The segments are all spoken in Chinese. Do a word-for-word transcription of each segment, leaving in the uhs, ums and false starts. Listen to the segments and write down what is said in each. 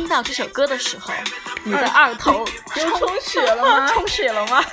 到这首歌的时候，你的二头又充血了吗？ 充血了吗？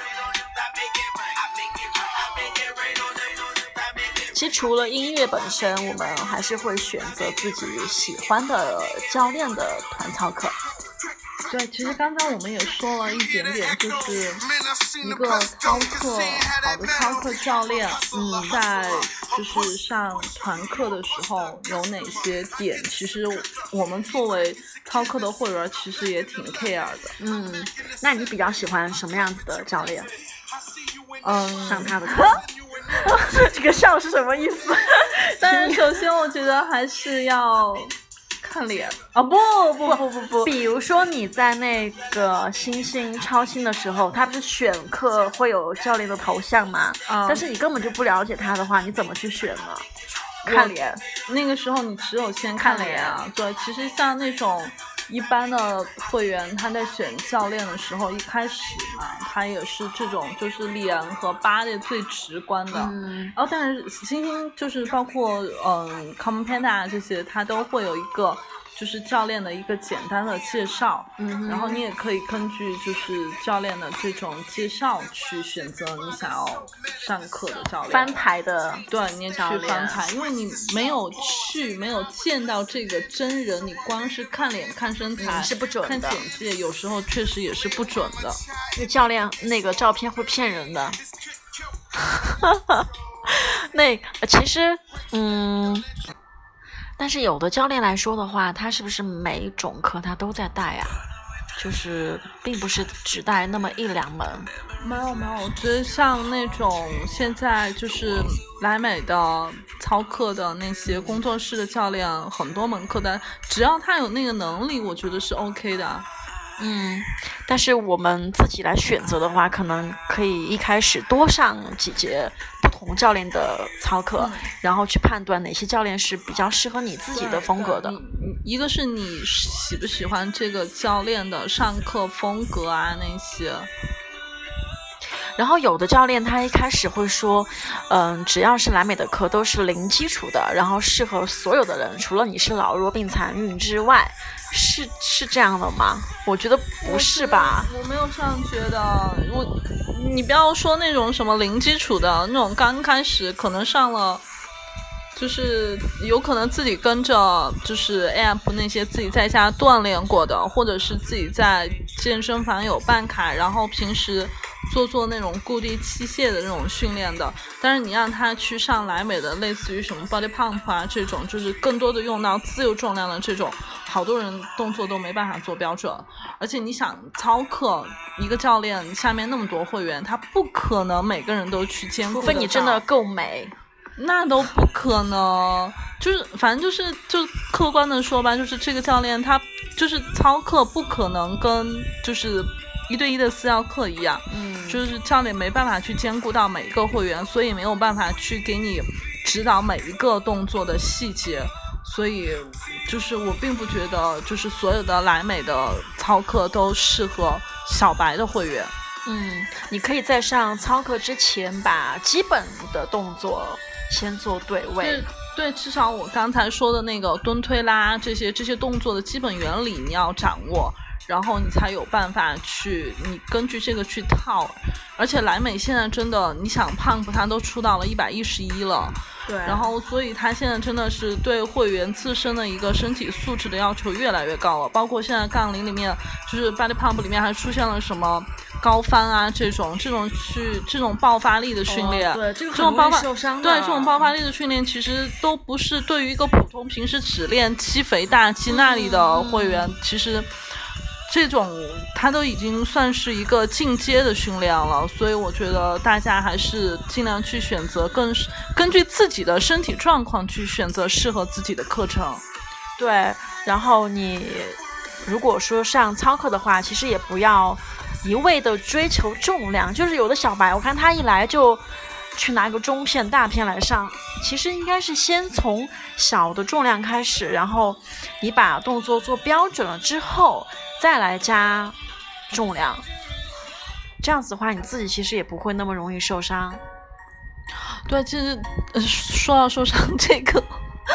其实除了音乐本身，我们还是会选择自己喜欢的教练的团操课。 对，其实刚才我们也说了一点点，就是一个操课好的操课教练，嗯，在就是上团课的时候有哪些点，其实我们作为操课的会员其实也挺 care 的。 嗯，那你比较喜欢什么样子的教练？ 嗯， 上他的课。这个笑是什么意思？ 但是首先我觉得还是要看脸啊、哦！不不不不不， 比如说你在那个星星超星的时候，他不是选课会有教练的头像吗？ 嗯， 但是你根本就不了解他的话，你怎么去选呢？看脸， 那个时候你只有先看脸啊。对，其实像那种一般的会员，他在选教练的时候，一开始嘛，他也是这种就是脸和body最直观的。 嗯， 然后但是星星就是包括嗯 Common Panda 这些，它都会有一个就是教练的一个简单的介绍。 嗯， 然后你也可以根据就是教练的这种介绍去选择你想要上课的教练。 翻牌的， 对，你也去翻牌，因为你没有去，没有见到这个真人，你光是看脸、看身材、 嗯、是不准的， 看简介，有时候确实也是不准的。 那教练那个照片会骗人的。那其实，嗯。但是有的教练来说的话，他是不是每一种课他都在带啊？就是并不是只带那么一两门。 没有没有，我觉得像那种现在就是莱美的操课的那些工作室的教练，很多门课单，只要他有那个能力，我觉得是 OK 的。 嗯，但是我们自己来选择的话，可能可以一开始多上几节不同教练的操课，嗯、然后去判断哪些教练是比较适合你自己的风格的。 一个是你喜不喜欢这个教练的上课风格啊那些。 然后有的教练他一开始会说，嗯，只要是莱美的课都是零基础的，然后适合所有的人，除了你是老弱病残孕之外，是是这样的吗？我觉得不是吧。 我, 我没有这样觉得，我你不要说那种什么零基础的那种，刚开始可能上了。就是有可能自己跟着就是 app 那些自己在家锻炼过的，或者是自己在健身房有办卡，然后平时做做那种固定器械的那种训练的。但是你让他去上莱美的类似于什么 body pump 啊这种，就是更多的用到自由重量的这种，好多人动作都没办法做标准。而且你想操课，一个教练下面那么多会员，他不可能每个人都去兼顾得到， 除非你真的够美。 那都不可能，就是反正就是就客观的说吧，就是这个教练他就是操课不可能跟就是一对一的私教课一样， 嗯， 就是教练没办法去兼顾到每一个会员，所以没有办法去给你指导每一个动作的细节，所以就是我并不觉得就是所有的莱美的操课都适合小白的会员。 嗯，你可以在上操课之前把基本的动作先做对位。 对对，至少我刚才说的那个蹲推拉这些这些动作的基本原理你要掌握，然后你才有办法去你根据这个去套。而且莱美现在真的，你想胖不它都出到了一百一十一了， 对， 然后所以它现在真的是对会员自身的一个身体素质的要求越来越高了。包括现在杠铃里面就是 body pump 里面还出现了什么高翻啊这种这种去这种爆发力的训练， 哦、对，这个很容易受伤的。 对，这种爆发力的训练其实都不是对于一个普通平时只练肌肥大肌那里的会员，嗯、其实这种它都已经算是一个进阶的训练了，所以我觉得大家还是尽量去选择更根据自己的身体状况去选择适合自己的课程。 对，然后你如果说上操课的话，其实也不要一味的追求重量，就是有的小白我看他一来就去拿个中片大片来上，其实应该是先从小的重量开始，然后你把动作做标准了之后再来加重量，这样子的话你自己其实也不会那么容易受伤。 对，其实、呃、说到受伤这个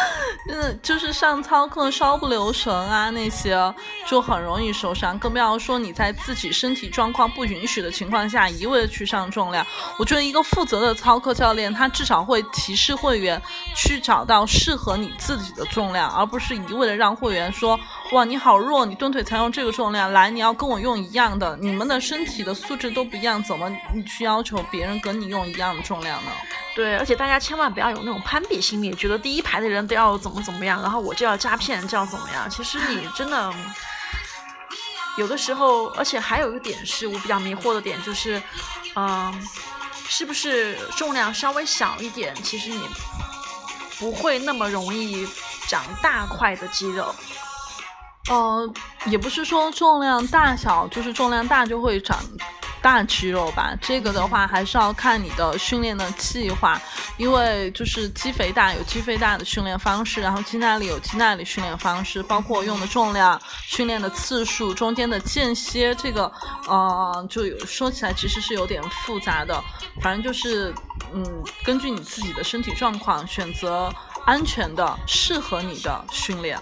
嗯，就是上操课稍不留神啊，那些就很容易受伤，更不要说你在自己身体状况不允许的情况下一味的去上重量。我觉得一个负责的操课教练，他至少会提示会员去找到适合你自己的重量，而不是一味的让会员说，哇，你好弱，你蹲腿才用这个重量，来，你要跟我用一样的，你们的身体的素质都不一样，怎么你去要求别人跟你用一样的重量呢？ 对，而且大家千万不要有那种攀比心理，觉得第一排的人都要怎么怎么样，然后我就要加片就要怎么样。其实你真的有的时候，而且还有一个点是我比较迷惑的点，就是嗯，是不是重量稍微小一点，其实你不会那么容易长大块的肌肉。 呃，也不是说重量大小就是重量大就会长大肌肉吧，这个的话还是要看你的训练的计划，因为就是肌肥大有肌肥大的训练方式，然后肌耐力有肌耐力训练方式，包括用的重量、训练的次数、中间的间歇，这个呃，就有说起来其实是有点复杂的，反正就是嗯，根据你自己的身体状况选择安全的、适合你的训练。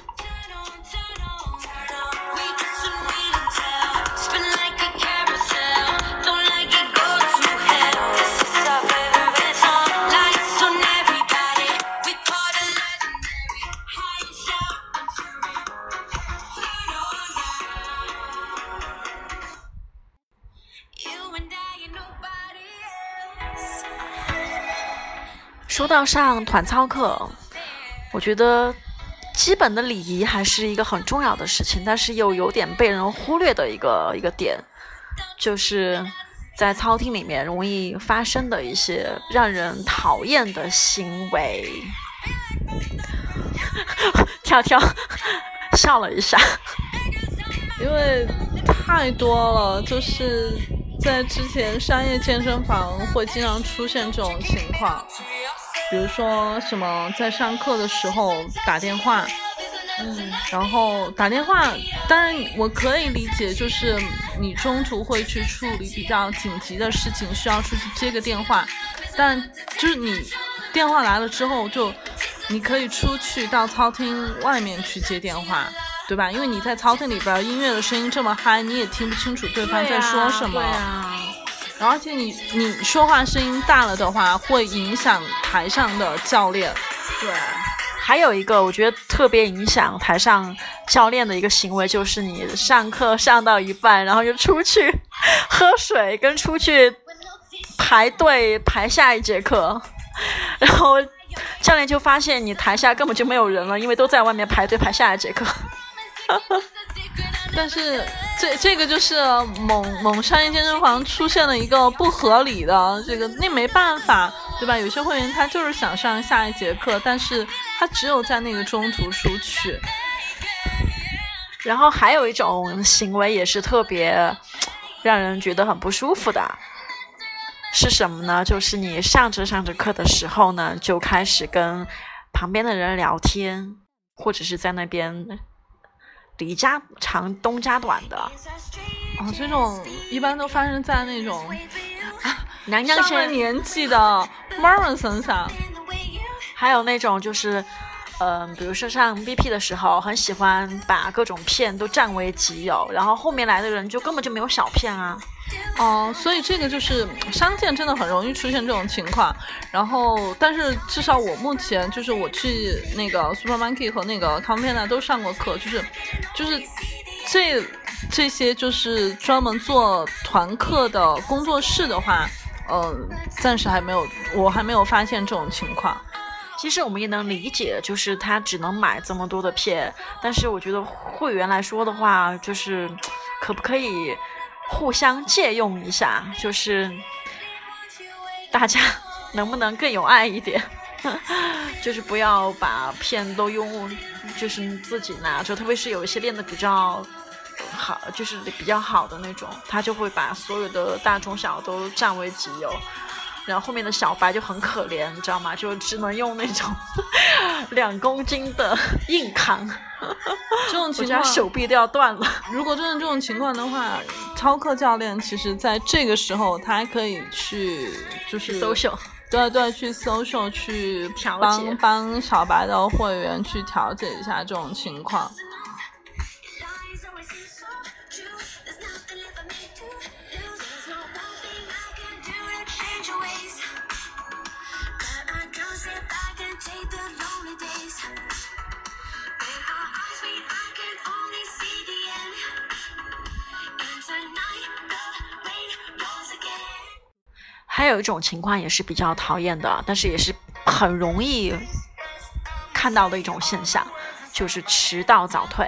说到上团操课，我觉得基本的礼仪还是一个很重要的事情，但是又有点被人忽略的一个一个点，就是在操厅里面容易发生的一些让人讨厌的行为。跳跳笑了一下， 因为太多了，就是在之前商业健身房会经常出现这种情况，比如说什么在上课的时候打电话，嗯，然后打电话，当然我可以理解，就是你中途会去处理比较紧急的事情，需要出去接个电话，但就是你电话来了之后，就你可以出去到操厅外面去接电话，对吧？因为你在操厅里边音乐的声音这么嗨，你也听不清楚对方在说什么。 对啊， 然后而且你你说话声音大了的话，会影响台上的教练。 对，还有一个我觉得特别影响台上教练的一个行为，就是你上课上到一半，然后就出去喝水，跟出去排队排下一节课，然后教练就发现你台下根本就没有人了，因为都在外面排队排下一节课。 但是这这个就是某某商业健身房出现了一个不合理的这个，那没办法，对吧？有些会员他就是想上下一节课，但是他只有在那个中途出去。 然后还有一种行为也是特别让人觉得很不舒服的，是什么呢？就是你上着上着课的时候呢，就开始跟旁边的人聊天，或者是在那边离家长东家短的。 哦，这种一般都发生在那种娘娘上了年纪的妈妈身上。 还有那种就是嗯、呃，比如说上 B P 的时候，很喜欢把各种片都占为己有，然后后面来的人就根本就没有小片啊。 哦、呃，所以这个就是商健真的很容易出现这种情况。然后，但是至少我目前就是我去那个 Super Monkey 和那个 Compena 都上过课，就是就是这这些就是专门做团课的工作室的话，嗯、呃，暂时还没有，我还没有发现这种情况。 其实我们也能理解，就是他只能买这么多的片，但是我觉得会员来说的话，就是可不可以互相借用一下，就是大家能不能更有爱一点，就是不要把片都用，就是自己拿着，特别是有一些练的比较好，就是比较好的那种，他就会把所有的大中小都占为己有。然后后面的小白就很可怜，你知道吗？就只能用那种两公斤的硬扛， 这种情况手臂都要断了。 如果真的这种情况的话，操课教练其实在这个时候他还可以去就是 social， 对对，去 social 去调帮节帮小白的会员去调解一下这种情况。 还有一种情况也是比较讨厌的，但是也是很容易看到的一种现象，就是迟到早退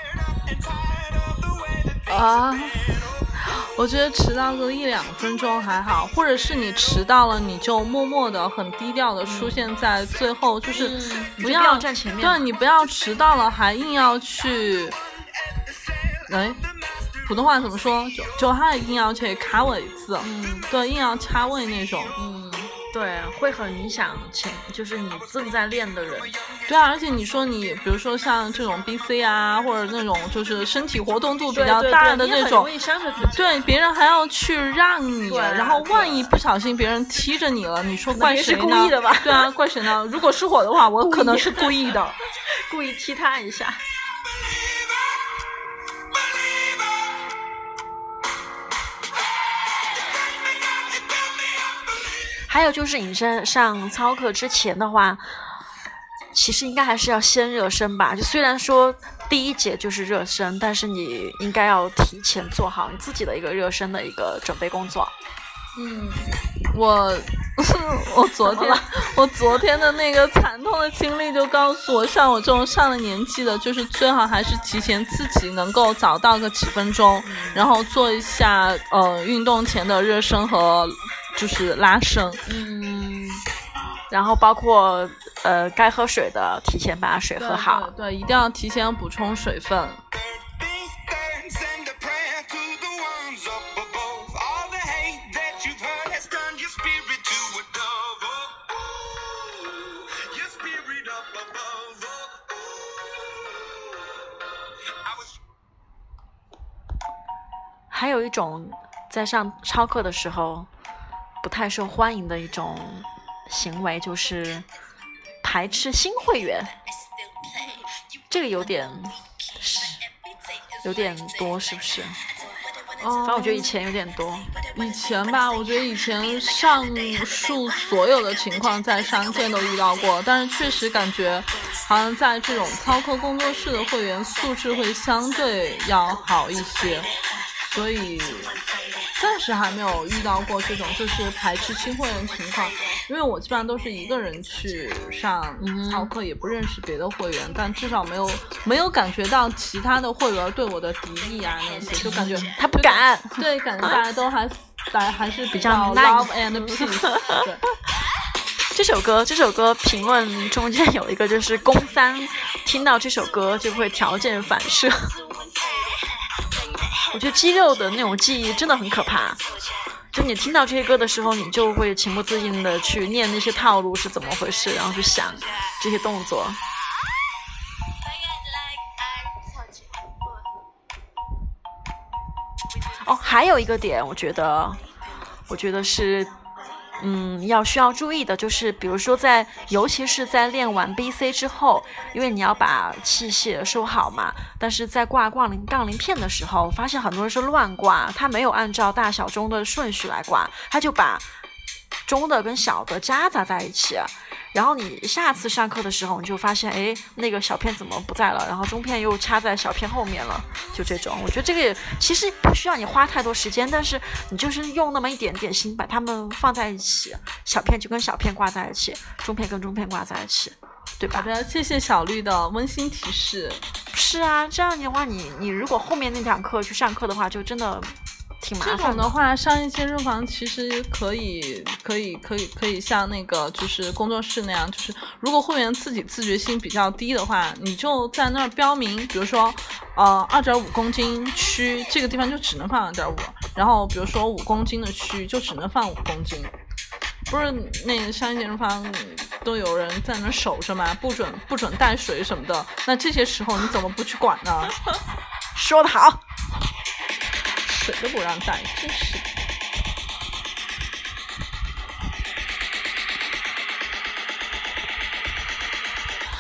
啊。我觉得迟到个一两分钟还好，或者是你迟到了，你就默默的、很低调的出现在最后，嗯、就是不要、 嗯、不要站前面。 对，你不要迟到了还硬要去，哎，普通话怎么说？就就还硬要去卡位子， 嗯， 对，硬要插位那种， 嗯，对，会很影响前，就是你正在练的人。 对啊，而且你说你，比如说像这种 B C 啊，或者那种就是身体活动度比较大的那种， 对对对，你很容易伤着自己。 对，别人还要去让你， 啊、 然后万一不小心别人踢着你了，你说怪谁呢？ 是故意的吧？ 对啊，怪谁呢？如果是我的话，我可能是故意的， 故意踢他一下。还有就是你在上操课之前的话，其实应该还是要先热身吧。就虽然说第一节就是热身，但是你应该要提前做好你自己的一个热身的一个准备工作。 嗯，我我昨天我昨天的那个惨痛的经历就告诉我，像我这种上了年纪的，就是最好还是提前自己能够早到个几分钟，嗯、然后做一下呃运动前的热身和就是拉伸。 嗯，然后包括呃该喝水的提前把水喝好。 对, 对, 对，一定要提前补充水分。 还有一种在上操课的时候不太受欢迎的一种行为，就是排斥新会员。这个有点有点多，是不是？ 哦， 反正我觉得以前有点多。 以前吧，我觉得以前上述所有的情况在商界都遇到过，但是确实感觉好像在这种操课工作室的会员素质会相对要好一些，所以暂时还没有遇到过这种就是排斥新会员情况。因为我基本上都是一个人去上操课，嗯、也不认识别的会员，但至少没有没有感觉到其他的会员对我的敌意啊那些，就感觉他不敢， 对，感觉大家都还大家还是比较 love and peace。对， 这首歌这首歌评论中间有一个就是公三听到这首歌就会条件反射。我觉得肌肉的那种记忆真的很可怕。就你听到这些歌的时候，你就会情不自禁的去念那些套路是怎么回事，然后去想这些动作。哦，还有一个点，我觉得，我觉得是，嗯，要需要注意的，就是比如说在，尤其是在练完 B C 之后，因为你要把器械收好嘛，但是在挂杠铃杠铃片的时候，发现很多人是乱挂，他没有按照大小中的顺序来挂，他就把中的跟小的夹杂在一起，然后你下次上课的时候，你就发现，哎，那个小片怎么不在了？然后中片又插在小片后面了，就这种。我觉得这个其实不需要你花太多时间，但是你就是用那么一点点心把它们放在一起，小片就跟小片挂在一起，中片跟中片挂在一起，对吧？ 好的，谢谢小绿的温馨提示。 是啊，这样的话，你你如果后面那堂课去上课的话，就真的挺麻烦的。 这种的话，上一健身房其实可以，可以，可以，可以像那个就是工作室那样，就是如果会员自己自觉性比较低的话，你就在那儿标明，比如说，呃，二点五公斤区这个地方就只能放二点五，然后比如说五公斤的区就只能放五公斤。不是那个上一健身房都有人在那守着吗？不准不准带水什么的，那这些时候你怎么不去管呢？ 说得好。 水都不让带，真是的。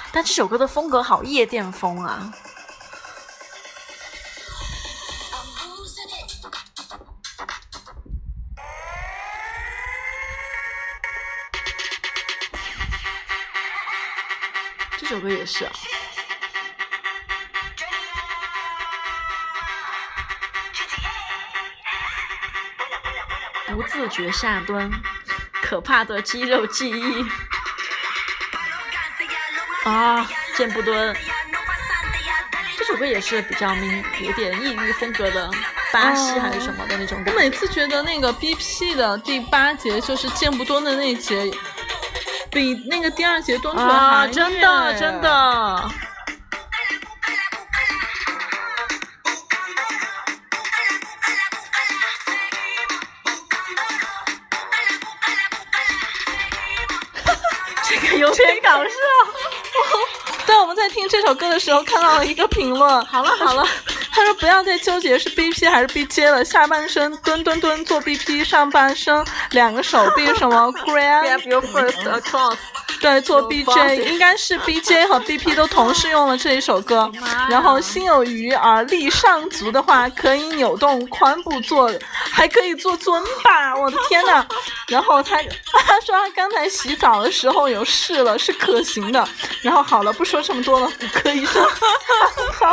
但这首歌的风格好夜店风啊。这首歌也是啊。不自觉下蹲，可怕的肌肉记忆啊！箭步蹲，这首歌也是比较民，有点异域风格的，巴西还是什么的那种感觉。 我每次觉得那个 B P 的第八节就是箭步蹲的那节，比那个第二节蹲腿还啊，真的真的。有点搞笑。 对，我们在听这首歌的时候看到了一个评论， 好了好了， 他说不要再纠结是 B P 还是 B J 了，下半身蹲蹲蹲做 B P， 上半身两个手臂什么 grab your first across， 对，做 B J 应该是 B J 和 B P 都同时用了这一首歌。然后心有余而力上足的话，可以扭动髋部做，还可以做尊巴，我的天哪！然后他他说他刚才洗澡的时候有试了，是可行的。然后好了，不说这么多了，骨科医生好。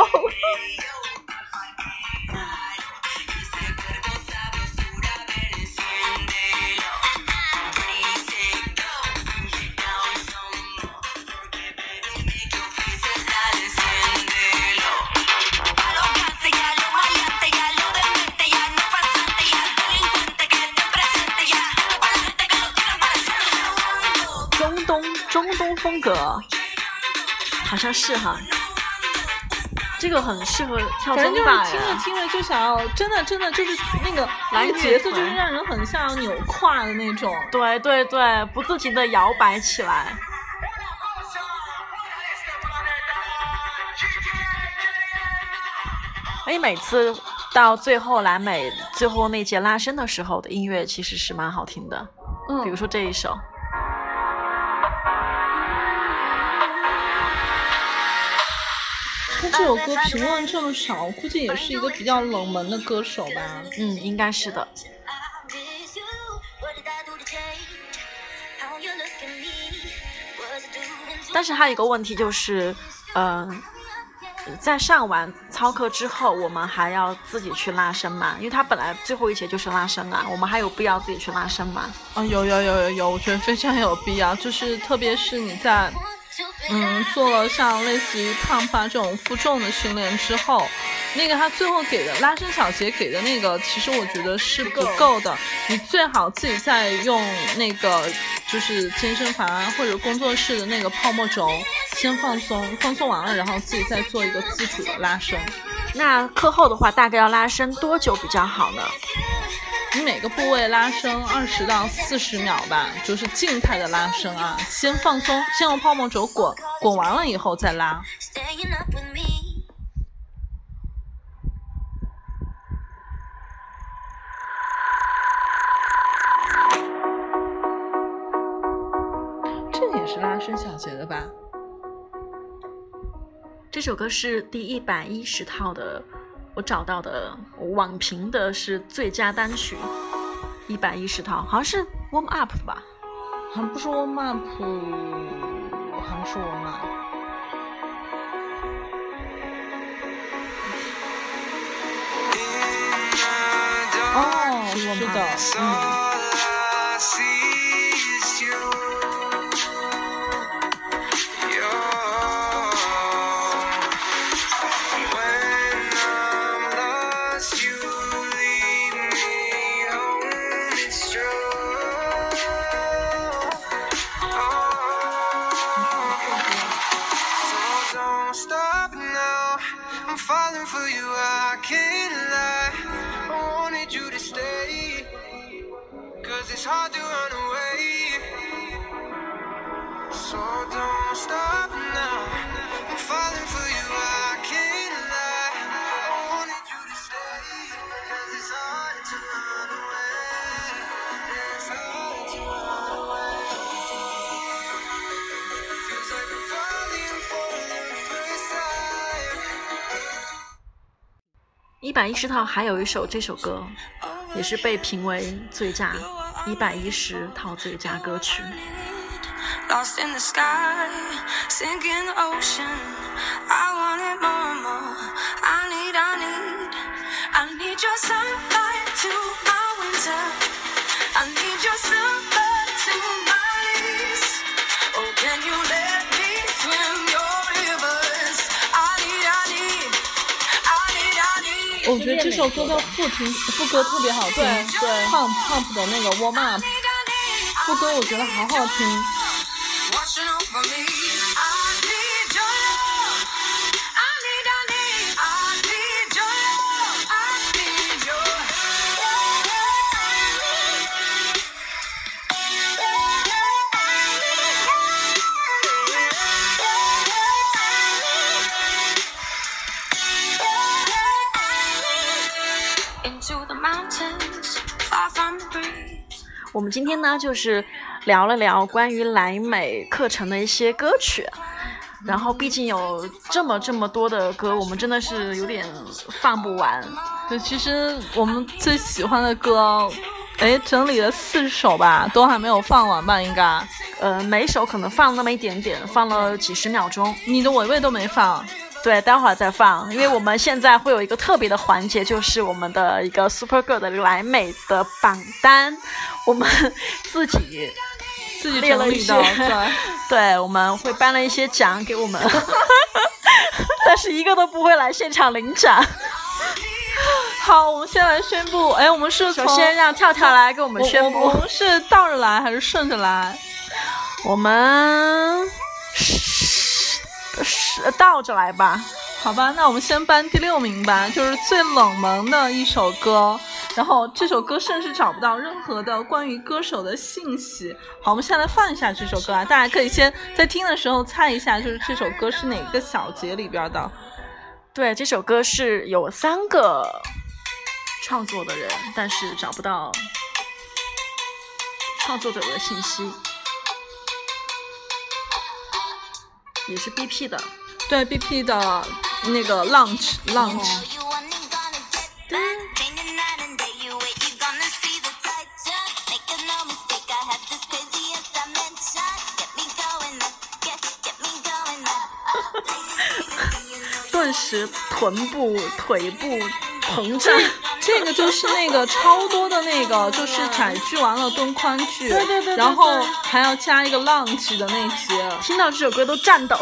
中东风格好像是哈，这个很适合跳尊巴呀。 反正就是听着听着就想要，真的真的就是那个那个节奏，就是让人很像扭胯的那种。 对对对，不自觉的摇摆起来。而且每次到最后蓝美最后那节拉伸的时候的音乐其实是蛮好听的，嗯，比如说这一首。 他这首歌评论这么少，估计也是一个比较冷门的歌手吧。 嗯，应该是的。但是还有一个问题就是，嗯、呃，在上完操课之后，我们还要自己去拉伸嘛？因为他本来最后一节就是拉伸啊，我们还有必要自己去拉伸吗？ 啊、哦，有有有有有，我觉得非常有必要，就是特别是你在。嗯，做了像类似于胖发这种负重的训练之后，那个他最后给的拉伸小节给的那个，其实我觉得是不够的。你最好自己再用那个就是健身房或者工作室的那个泡沫轴先放松，放松完了，然后自己再做一个自主的拉伸。 那课后的话，大概要拉伸多久比较好呢？ 你每个部位拉伸二十到四十秒吧，就是静态的拉伸啊，先放松，先用泡沫轴滚，滚完了以后再拉。这个也是拉伸小节的吧？ 这首歌是第一百一十套的。我找到的网评的是最佳单曲，一百一十套，好像是 warm up 的吧？ 好像不是 warm up， 好像是 warm up。哦，是的，嗯。 It's hard to run away, so don't stop now. I'm falling for you, I can't lie. I wanted you to stay, cause it's hard to run away. It's hard to run away. Feels like I'm falling for 百一十套还有一首这首歌，也是被评为最佳一百一十套最佳歌曲。 Lost in the sky, sink in the ocean. I want it more and more. I need, I need, I need your sunlight to my winter. I need your summer to my lease. Oh, can you let me swim your rivers? I need, I need, I need, I need. 我觉得这首歌的副听副歌特别好听， 对对 ，Pump Pump 的那个 Warm Up 副歌我觉得好好听。 Watching over me. I need your love. I need, I need, I need your love. I need your into the mountains, far from the breeze. 我们今天呢，就是聊了聊关于莱美课程的一些歌曲，然后毕竟有这么这么多的歌，我们真的是有点放不完。 对，其实我们最喜欢的歌，哎，整理了四首吧，都还没有放完吧？应该， 呃，每首可能放那么一点点，放了几十秒钟。 你的尾尾都没放。 对，待会儿再放，因为我们现在会有一个特别的环节，就是我们的一个 Super Girl 的莱美的榜单，我们自己自己列了一些， 整理的，对， 对，我们会颁了一些奖给我们，但是一个都不会来现场领奖。 好，我们先来宣布，哎，我们是从首先让跳跳来给我们宣布， 我我们是倒着来还是顺着来？ 我们是倒着来吧。 好吧，那我们先颁第六名吧，就是最冷门的一首歌，然后这首歌甚至找不到任何的关于歌手的信息。好，我们先来放一下这首歌啊，大家可以先在听的时候猜一下，就是这首歌是哪个小节里边的。 对，这首歌是有三个创作的人，但是找不到创作者的信息，也是 B P 的。 对 B P 的那个 Launch Launch。 顿时臀部腿部膨胀。 这个就是那个超多的那个，就是窄句完了蹲宽句， 对对对对对， 然后还要加一个 launch 的那节， 听到这首歌都颤抖。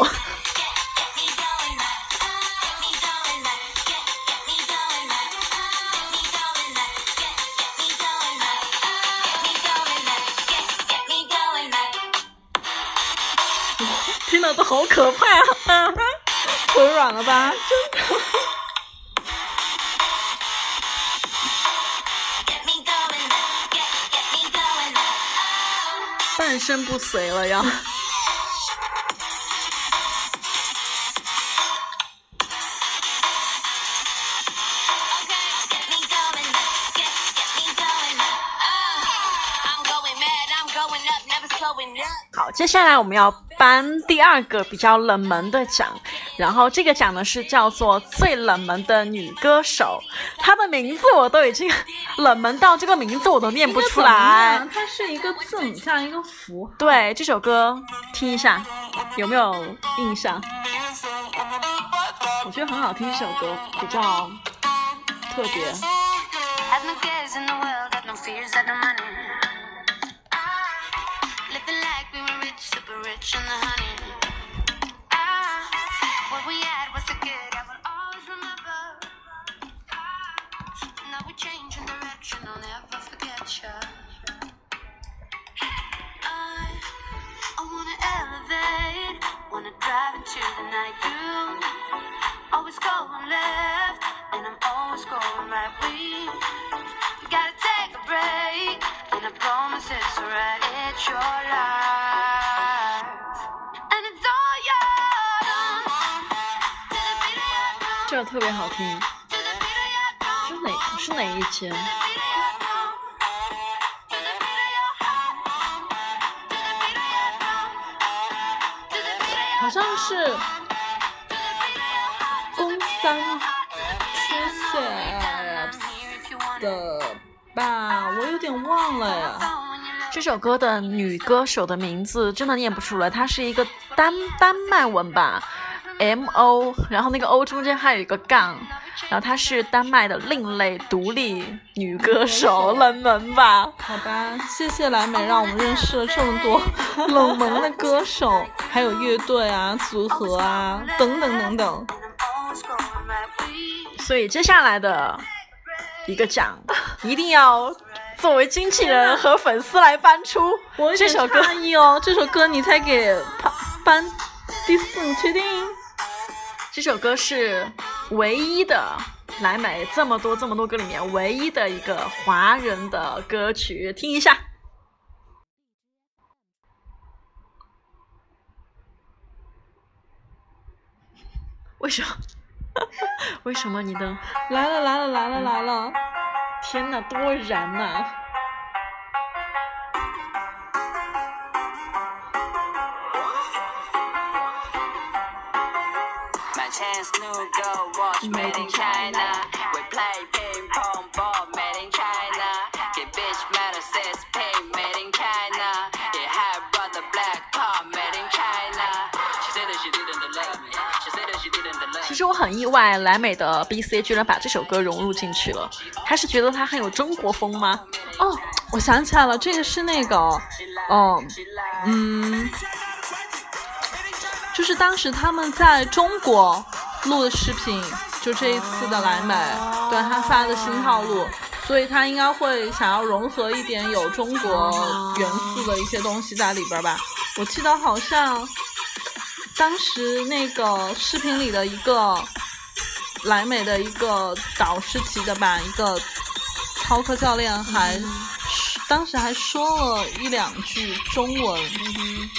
听到都好可怕啊！ 腿软了吧？ 真的。半身不遂了要。好，接下来我们要颁第二个比较冷门的奖，然后这个奖呢是叫做最冷门的女歌手，她的名字我都已经冷门到这个名字我都念不出来。 它是一个字母加一个符号。 对，这首歌听一下，有没有印象？我觉得很好听，这首歌比较特别。 Living like we were rich, super rich in the honey. Ah, what we had was so good, I will always remember. Ah, now we're changing direction, I'll never forget you. I, I wanna elevate, wanna drive into the night. You always going left, and I'm always going right. We gotta take a break, and I promise it's alright. It's your life, and it's all yours. 这特别好听，是哪是哪一间？ 好像是宫三出现。 的吧，我有点忘了呀。 这首歌的女歌手的名字真的念不出来，她是一个丹丹麦文吧 M O， 然后那个 O 中间还有一个杠，然后她是丹麦的另类独立女歌手，冷门吧？ 好吧，谢谢蓝莓让我们认识了这么多冷门的歌手，还有乐队啊、组合啊等等等等。 所以接下来的一个奖一定要作为经纪人和粉丝来颁出。 我这首歌哦，这首歌你才给颁第四，你确定？ 这首歌是唯一的莱美这么多这么多歌里面唯一的一个华人的歌曲，听一下。为什么？为什么你的来了来了来了来了！ 天哪，多燃呐、啊！ Made in China, we play ping pong ball. Made in China, get bitch metal says pink. Made in China, yeah, hi brother black car. Made in China, she said that she didn't love me. She said that she didn't love me. 其实我很意外，莱美的 B C 居然把这首歌融入进去了。他是觉得它很有中国风吗？ 哦，我想起来了，这个是那个，哦，嗯，就是当时他们在中国录的视频，就这一次的莱美，对他发的新套路，所以他应该会想要融合一点有中国元素的一些东西在里边吧。我记得好像当时那个视频里的一个莱美的一个导师级的吧，一个操课教练还、嗯、当时还说了一两句中文。嗯，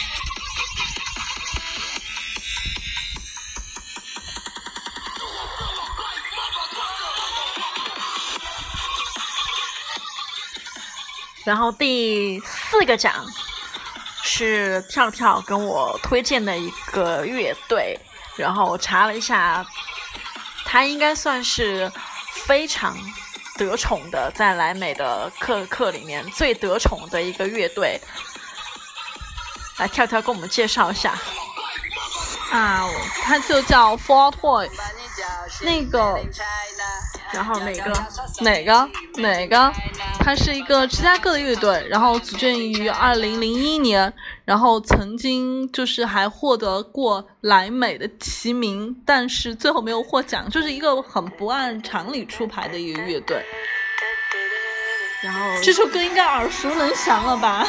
然后第四个奖是跳跳跟我推荐的一个乐队，然后我查了一下，他应该算是非常得宠的，在莱美的课课里面最得宠的一个乐队。来，跳跳跟我们介绍一下。 啊，他就叫 Four Toy， 那个， 然后哪个哪个哪个？它是一个芝加哥的乐队，然后组建于二零零一年，然后曾经就是还获得过莱美的提名，但是最后没有获奖，就是一个很不按常理出牌的一个乐队。 然后这首歌应该耳熟能详了吧？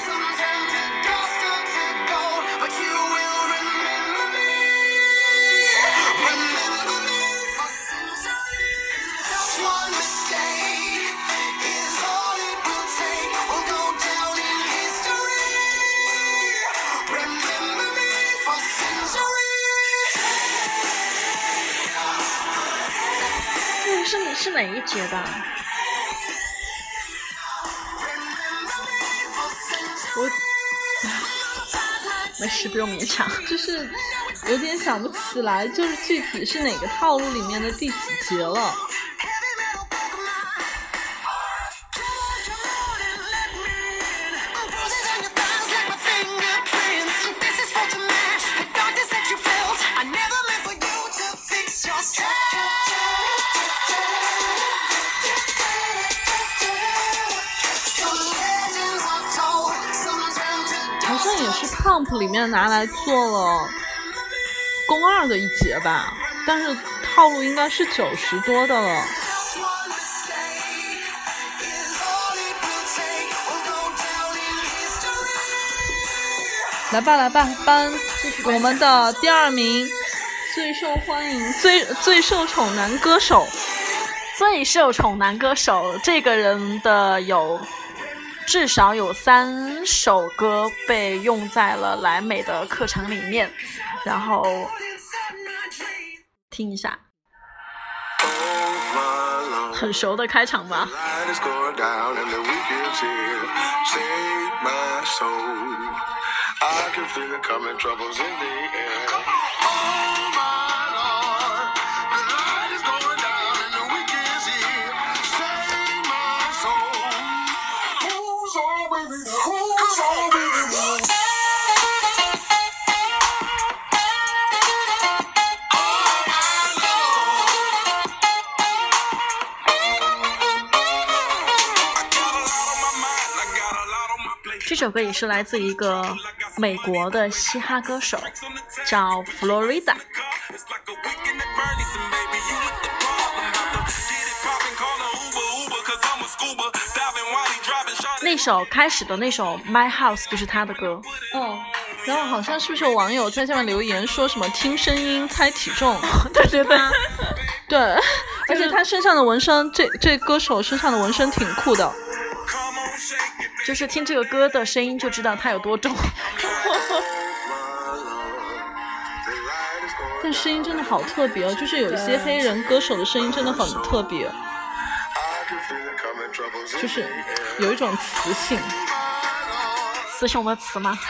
是是哪一节的？我没事，不用勉强。 就是有点想不起来，就是具体是哪个套路里面的第几节了。好像也是 Pump 里面拿来做了宫二的一节吧，但是套路应该是九十多的了。来吧来吧，颁我们的第二名最受欢迎最最受宠男歌手。 最受宠男歌手这个人的有至少有三首歌被用在了莱美的课程里面，然后听一下，很熟的开场吧。 这首歌也是来自一个美国的嘻哈歌手，叫 Florida。那首开始的那首 My House 就是他的歌。 哦，然后好像是不是有网友在下面留言说什么听声音猜体重？ 对对对， 对，而且他身上的纹身，这这歌手身上的纹身挺酷的。 就是听这个歌的声音就知道它有多重。 但声音真的好特别哦，就是有一些黑人歌手的声音真的很特别，就是有一种磁性。 雌雄的雌吗？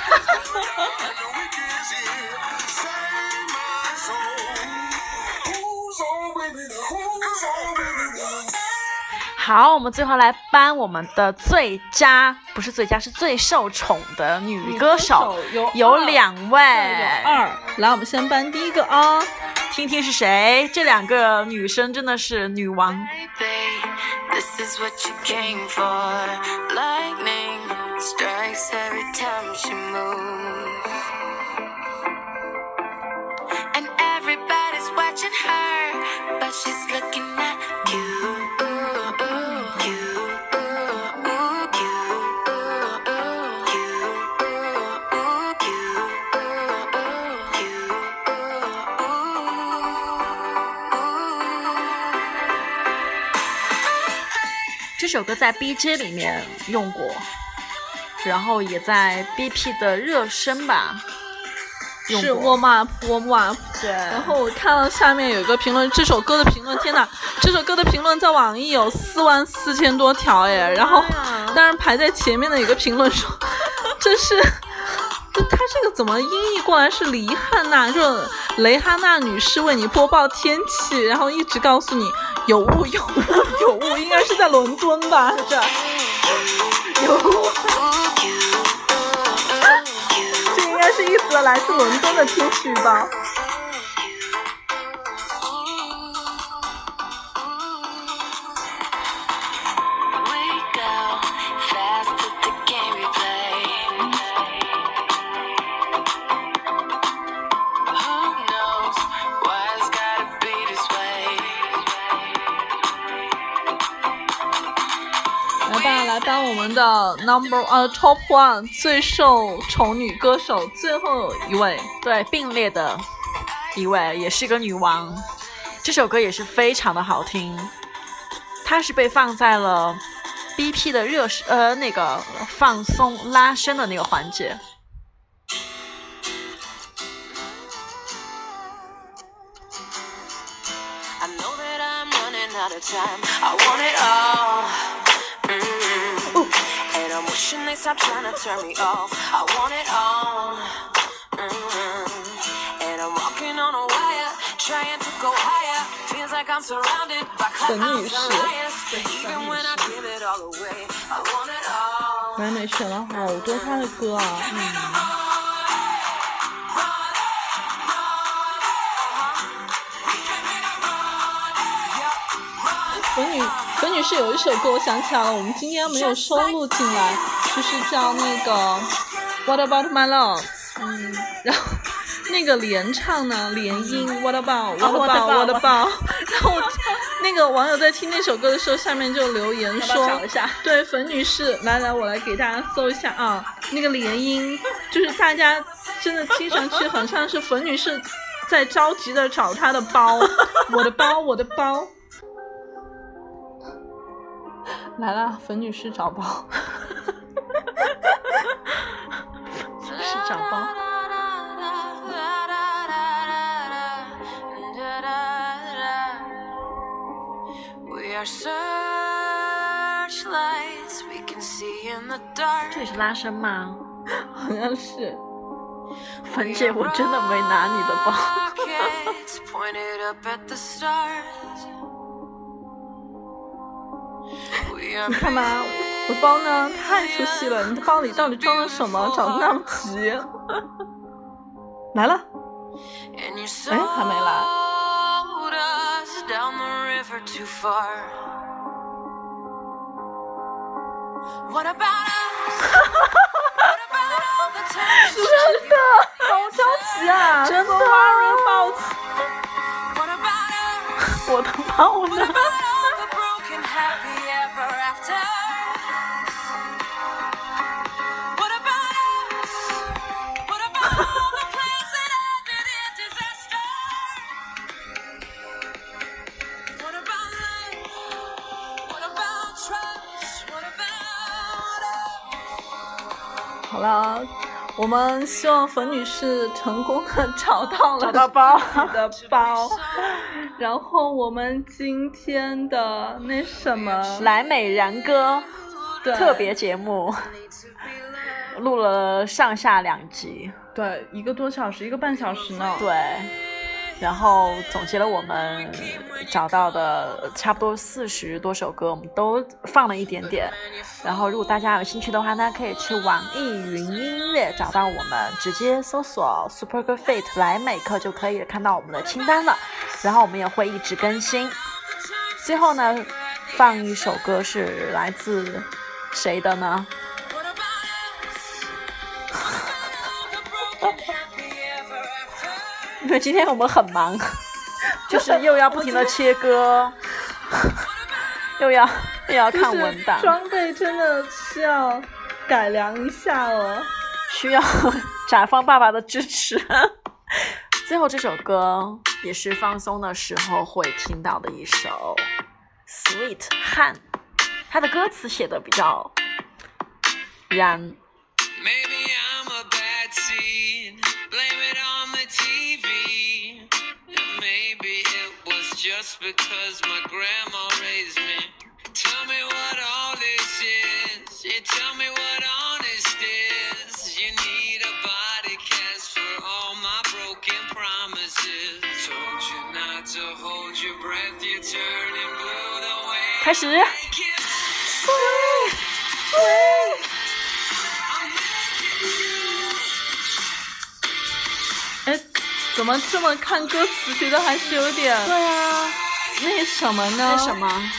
好，我们最后来颁我们的最佳，不是最佳，是最受宠的女歌手， 有有两位， 有二。来，我们先颁第一个啊， 听听是谁。这两个女生真的是女王。 This is what you came for. Lightning strikes every time she moves, and everybody's watching her, but she's looking at you. 这首歌在 B J 里面用过，然后也在 B P 的热身吧用是过。 warm up warm up。 对， 然后我看到下面有一个评论，这首歌的评论，天哪，这首歌的评论在网易有四万四千多条耶。然后当然排在前面的有个评论说，这是这他这个怎么音译过来是黎汉娜，就雷哈娜女士为你播报天气，然后一直告诉你有雾有雾有雾，应该是在伦敦吧？这有雾，这应该是一则来自伦敦的天气预报。来当我们的 number 呃 top one 最受宠女歌手最后一位， 对，并列的一位，也是个女王。这首歌也是非常的好听，它是被放在了 B P 的热呃那个放松拉伸的那个环节。 I know that I'm running out of time. I want it all. Mm-hmm. And I'm wishing they stop trying to turn me off. I want it all. Mm-hmm. And I'm walking on a wire, trying to go higher. Feels like I'm surrounded by clouds and liars. Even when I give it all away, I want it all. 完美选了好多她的歌啊，嗯。粉女粉女士有一首歌我想起来了，我们今天没有收录进来，就是叫那个 What About My Love， 嗯，然后那个连唱呢连音 What About What About What About， 然后那个网友在听那首歌的时候下面就留言说， 要不要找一下？ 对，粉女士，来来我来给大家搜一下啊，那个连音就是大家真的听上去很像是粉女士在着急的找她的包，我的包我的包。来了，粉女士找包， 粉女士找包。这也是拉伸吗？ 好像是。 粉姐，我真的没拿你的包。 你看吧， 我的包呢太出戏了，你的包里到底装了什么？找的那么急。来了，哎，还没来。真的，好着急啊！ 真的 So worry about 我的包呢？ 好了，我们希望冯女士成功的找到了找到包自己的包。然后我们今天的那什么莱美然歌对特别节目录了上下两集， 对一个多小时，一个半小时呢。 对，然后总结了我们找到的差不多四十多首歌，我们都放了一点点。然后如果大家有兴趣的话呢，可以去网易云音乐找到我们，直接搜索 Super Girl Fit 莱美课就可以看到我们的清单了。然后我们也会一直更新。最后呢，放一首歌是来自谁的呢？因为今天我们很忙，就是又要不停的切歌，又要又要看文档， 装备真的需要改良一下了， 需要甲方爸爸的支持。最后这首歌也是放松的时候会听到的一首 Sweet 汉，它的歌词写的比较燃。 Maybe I'm a bad seed, blame it on the T V. And maybe it was just because my grandma raised me. Tell me what all this is, yeah, tell me what honest is. You need a body cast for all my broken promises. Told you not to hold your breath, you're turning blue the way 开始 I kiss you. Sweet 哎，怎么这么看歌词觉得还是有点对啊， 那什么呢？ 那什么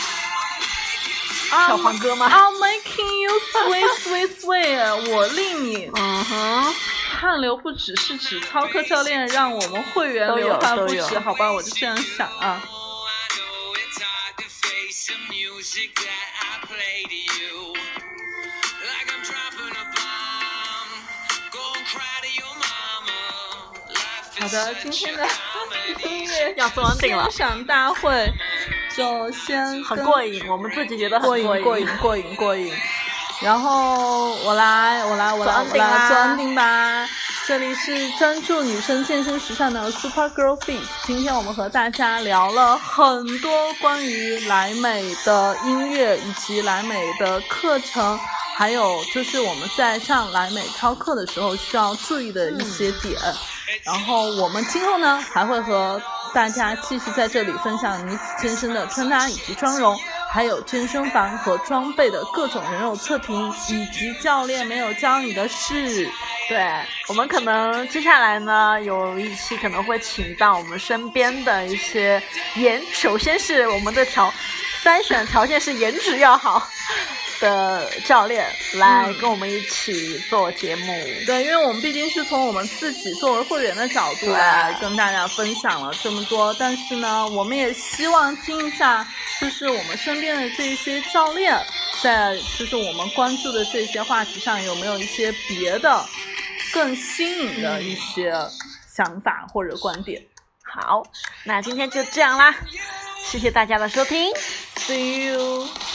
小黄歌吗？ I'm making you sweet sweet sweet， 我令你嗯哼， 汗流不止，是指操课教练让我们会员都有流汗不都有止，好吧，我就这样想啊。 Oh, I know it's hard to face the music that I play to you. Like I'm dropping a bomb, go and cry to your mama. Life 好 is 的，今 such 天 a 的 comedy. 音乐要做 ending 了欣赏大会就先跟很过瘾，我们自己觉得很过瘾过过瘾过瘾过瘾。然后我来我来我来做 ending 啦我来做 ending 吧。这里是专注女生健身时尚的 Super Girl Fit。今天我们和大家聊了很多关于莱美的音乐以及莱美的课程，还有就是我们在上莱美操课的时候需要注意的一些点。然后我们今后呢还会和大家继续在这里分享女子健身的穿搭以及妆容，还有健身房和装备的各种人肉测评，以及教练没有教你的事。 对，我们可能接下来呢有一期可能会请到我们身边的一些颜，首先是我们的条筛选条件是颜值要好的教练来跟我们一起做节目。 对，因为我们毕竟是从我们自己作为会员的角度来跟大家分享了这么多，但是呢，我们也希望听一下，就是我们身边的这些教练，在就是我们关注的这些话题上有没有一些别的更新颖的一些想法或者观点。 好，那今天就这样啦，谢谢大家的收听 See you。